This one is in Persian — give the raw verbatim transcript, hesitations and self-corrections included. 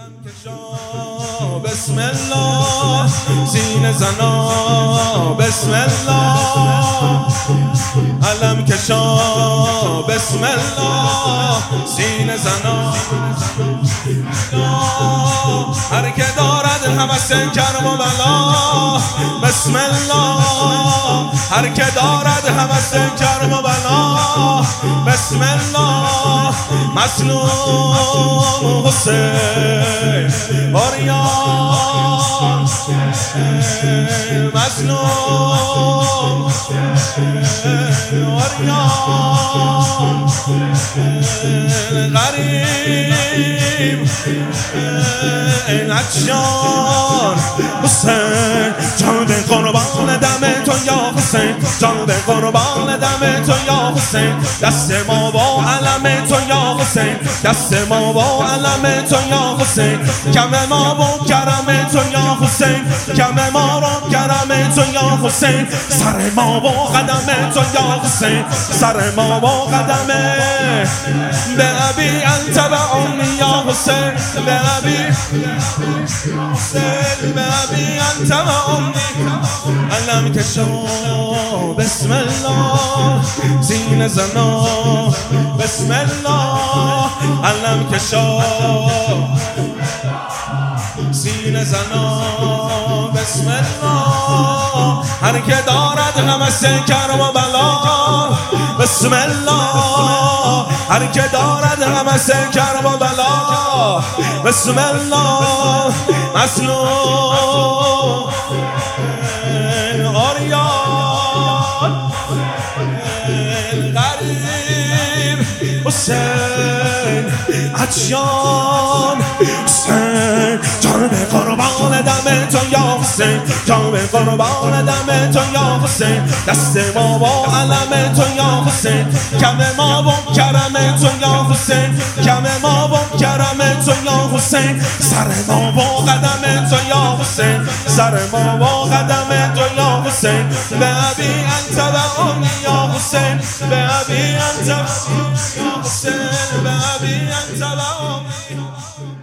بسم الله سینه زنا، بسم الله علم کشا، بسم الله سینه زنا. هر که دارد هوس کرم و بلا، بسم الله. هر که دارد هوس کرم و بلا، بسم الله. مظلوم حسین آریان، مظلوم آریان، غریب عطشان. حسین جان به قربان دم تو یا حسین، جان به قربان دم تو یا حسین. دست ما با علم تو یا حسین، دست ما با علم تو یا حسین. کم ما با کرم تو یا حسین، کم ما را کرم تو یا حسین. سر ما با قدم تو یا حسین، سر ما با قدم. به ابی انت و امی یا حسین، به ابی به ابی انت و امی. علم کشا، بسم الله سینه زنا، بسم الله علم کشا، سینه زنا، بسم الله. هر که دارد هوس کرم و بلا، بسم الله. هر که دارد هوس کرم و بلا، بسم الله. مظلوم آریان، غریب حسین عطشان. حسین جان به قربان دم تو یا حسین، جان به قربان دم تو یا حسین. دست ما با علم تو یا حسین، کم ما با کرم تو یا حسین، کم ما با کرم تو یا حسین. سر ما با قدم تو یا حسین، سر ما با قدم تو یا حسین. به ابی انت و امی یا حسین، به ابی انت و امی یا حسین، به ابی انت و امی.